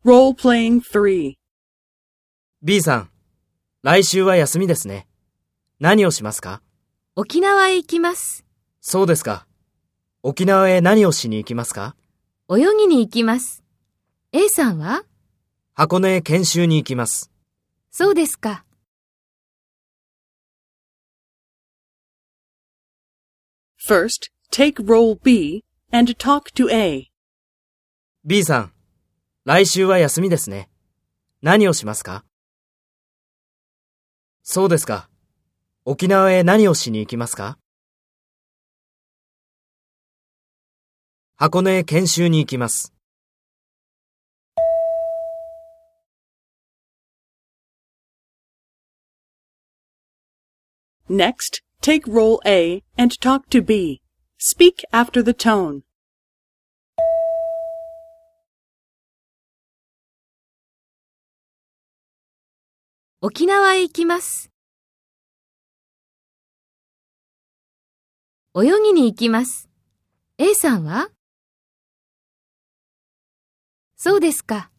Role-playing 3. B さん、来週は休みですね。何をしますか？ 沖縄へ行きます。 そうですか。沖縄へ何をしに行きますか？ 泳ぎに行きます。A さんは？ 箱根へ研修に行きます。 そうですか。 First, take role B and talk to A. B さん、来週は休みですね。何をしますか？そうですか。沖縄へ何をしに行きますか？箱根へ研修に行きます。 Next, take role A and talk to B. Speak after the tone. 沖縄へ行きます。泳ぎに行きます。A さんは？そうですか。